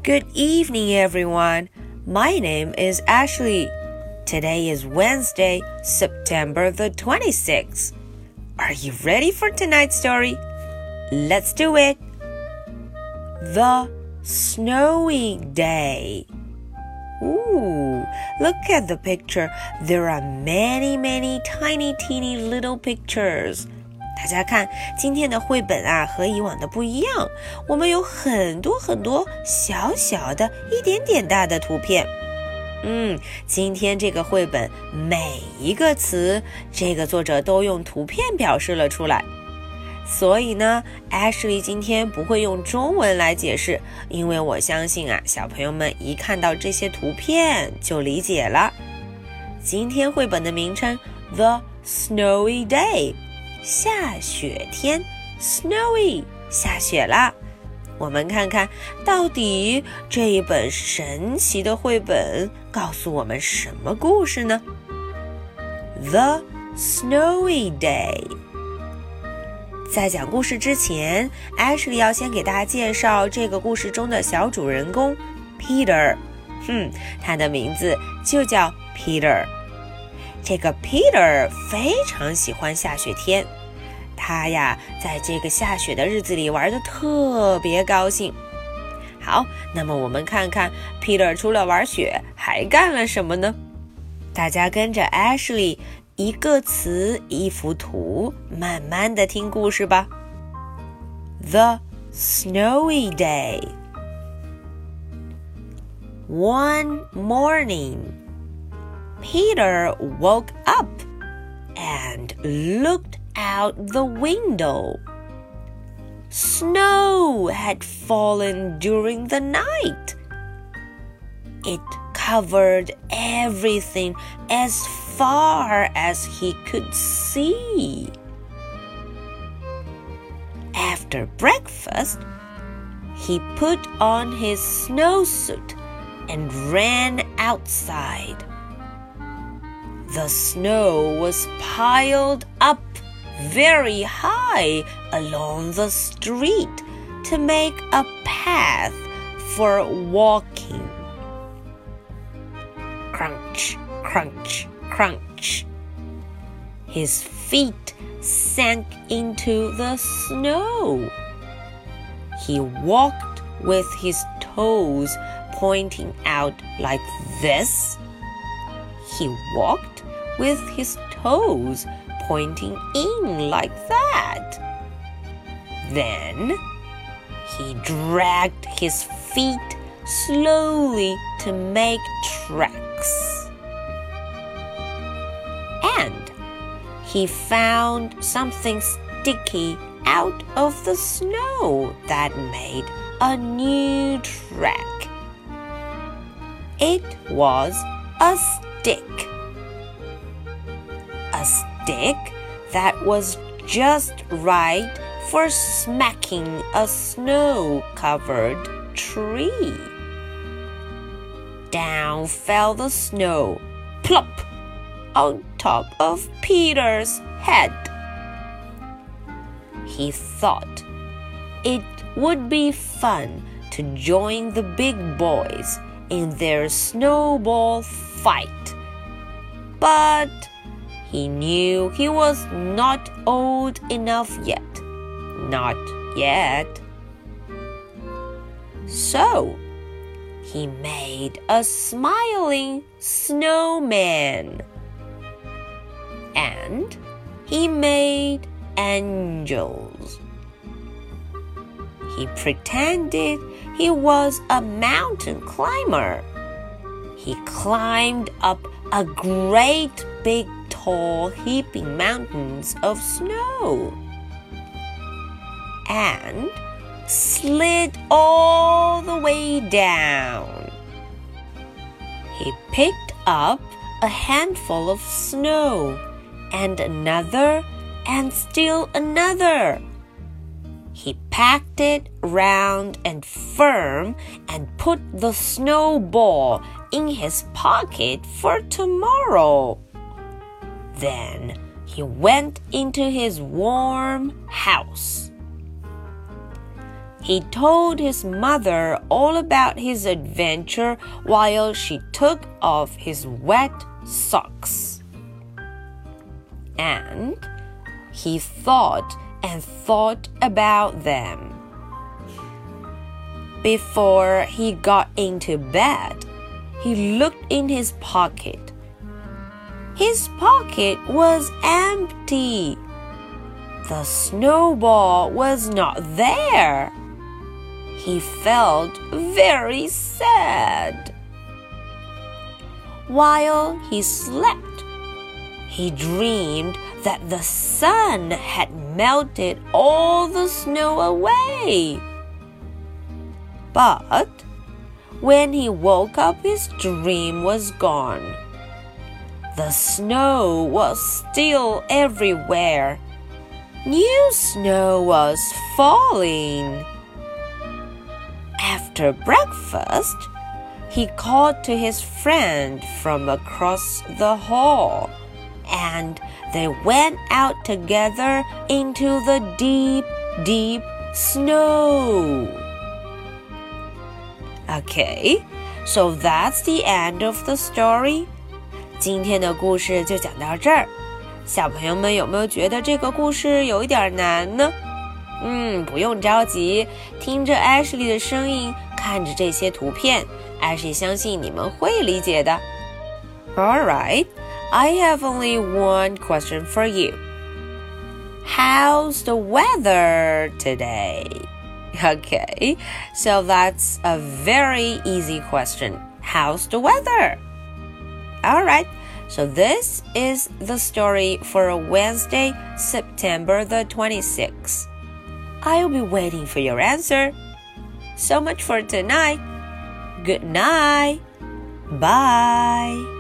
Good evening, everyone. My name is Ashley. Today is Wednesday, September the 26th. Are you ready for tonight's story? Let's do it. The Snowy Day. Ooh, look at the picture. There are many, many tiny, teeny little pictures.大家看，今天的绘本啊，和以往的不一样。我们有很多很多小小的、一点点大的图片。今天这个绘本每一个词，这个作者都用图片表示了出来。所以呢 Ashley 今天不会用中文来解释，因为我相信啊，小朋友们一看到这些图片就理解了。今天绘本的名称 The Snowy Day， 下雪天 Snowy 下雪啦。我们看看到底这一本神奇的绘本告诉我们什么故事呢？ The Snowy Day。在讲故事之前 Ashley 要先给大家介绍这个故事中的小主人公 Peter。他的名字就叫 Peter。这个 Peter 非常喜欢下雪天，他呀在这个下雪的日子里玩得特别高兴。好，那么我们看看 Peter 除了玩雪还干了什么呢？大家跟着 Ashley一个词一幅图，慢慢的听故事吧。 The Snowy Day. One morning, Peter woke up and looked out the window. Snow had fallen during the night. It covered everything as far as he could see. After breakfast, he put on his snowsuit and ran outside. The snow was piled up very high along the street to make a path for walking. Crunch, crunch, crunch. His feet sank into the snow. He walked with his toes pointing out like this. He walked with his toes pointing in like that. Then he dragged his feet slowly to make tracks. And he found something sticky out of the snow that made a new track. It was a stick. A stick that was just right for smacking a snow-covered tree. Down fell the snow, plop, on top of Peter's head. He thought it would be fun to join the big boys in their snowball fight. But he knew he was not old enough yet. Not yet. So, he made a smiling snowman. And he made angels. He pretended he was a mountain climber. He climbed up a great big tall heaping mountains of snow and slid all the way down. He picked up a handful of snow and another and still another. He packed it round and firm and put the snowball in his pocket for tomorrow. Then he went into his warm house. he told his mother all about his adventure while she took off his wet socks. And he thought and thought about them. Before he got into bed, he looked in his pocket. His pocket was empty. The snowball was not there. He felt very sad. While he slept, he dreamed that the sun had melted all the snow away. But when he woke up, his dream was gone. The snow was still everywhere. New snow was falling. After breakfast, he called to his friend from across the hall, and they went out together into the deep, deep snow. Okay, so that's the end of the story. 今天的故事就讲到这儿。小朋友们有没有觉得这个故事有一点难呢？不用着急，听着 Ashley 的声音，看着这些图片， Ashley 相信你们会理解的。Alright, I have only one question for you. How's the weather today? Okay, so that's a very easy question. How's the weather? Alright, so this is the story for Wednesday, September the 26th. I'll be waiting for your answer. So much for tonight. Good night. Bye.